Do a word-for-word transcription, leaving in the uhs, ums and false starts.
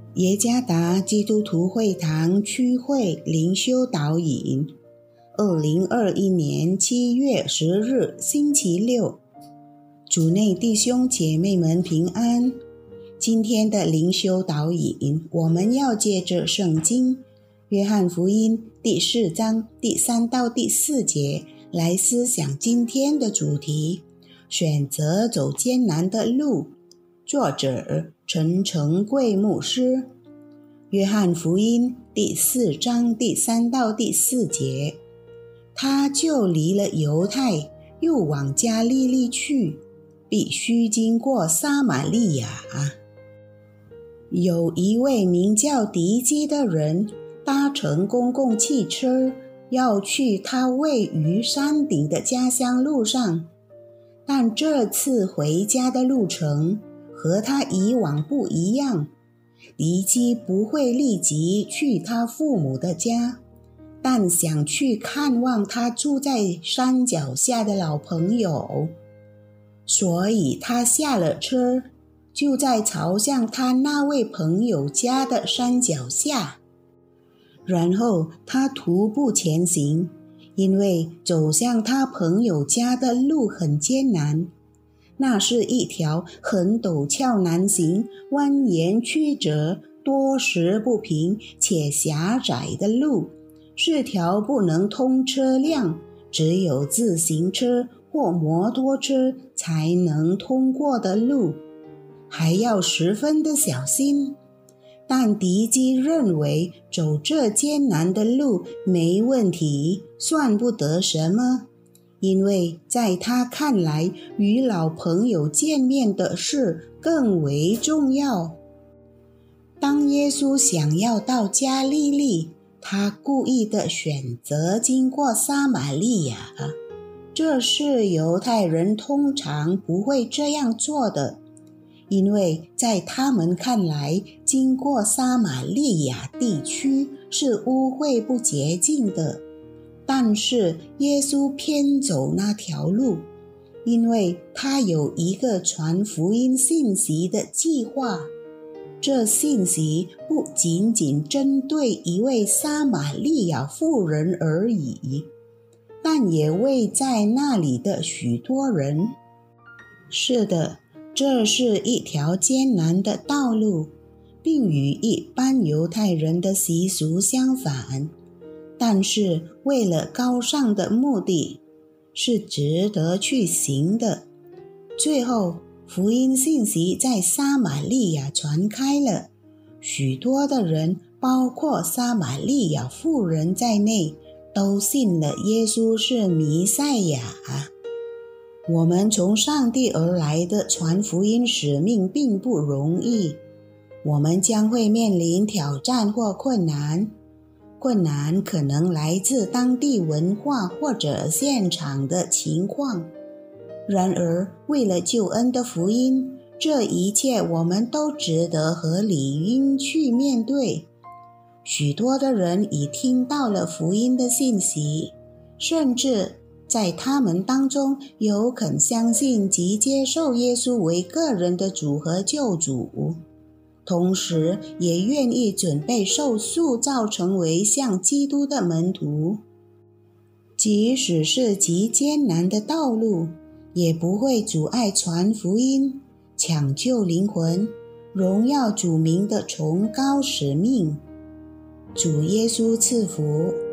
耶加达基督徒会堂区会灵修导引，二零二一年七月十日星期六，主内弟兄姐妹们平安。今天的灵修导引，我们要借着圣经约翰福音第四章第三到第四节来思想今天的主题：选择走艰难的路。作者陈成贵牧师。约翰福音第四章第三到第四节，他就离了犹太，又往加利利去，必须经过撒玛利亚。有一位名叫狄基的人，搭乘公共汽车，要去他位于山顶的家乡路上，但这次回家的路程和他以往不一样。狄基不会立即去他父母的家，但想去看望他住在山脚下的老朋友，所以他下了车，就在朝向他那位朋友家的山脚下。然后他徒步前行，因为走向他朋友家的路很艰难。那是一条很陡峭难行、蜿蜒曲折、多时不平且狭窄的路，是条不能通车辆，只有自行车或摩托车才能通过的路，还要十分的小心。但狄基认为走这艰难的路没问题，算不得什么。因为在他看来，与老朋友见面的事更为重要。当耶稣想要到加利利，他故意的选择经过撒玛利亚，这是犹太人通常不会这样做的，因为在他们看来，经过撒玛利亚地区是污秽不洁净的。但是耶稣偏走那条路，因为他有一个传福音信息的计划。这信息不仅仅针对一位撒玛利亚妇人而已，但也为在那里的许多人。是的，这是一条艰难的道路，并与一般犹太人的习俗相反。但是为了高尚的目的，是值得去行的。最后，福音信息在撒玛利亚传开了，许多的人，包括撒玛利亚妇人在内，都信了耶稣是弥赛亚。我们从上帝而来的传福音使命并不容易，我们将会面临挑战或困难。困难可能来自当地文化或者现场的情况。然而，为了救恩的福音，这一切我们都值得和理应去面对。许多的人已听到了福音的信息，甚至在他们当中有肯相信及接受耶稣为个人的主和救主，同时也愿意准备受塑造成为像基督的门徒。即使是极艰难的道路，也不会阻碍传福音、抢救灵魂、荣耀主名的崇高使命。主耶稣赐福。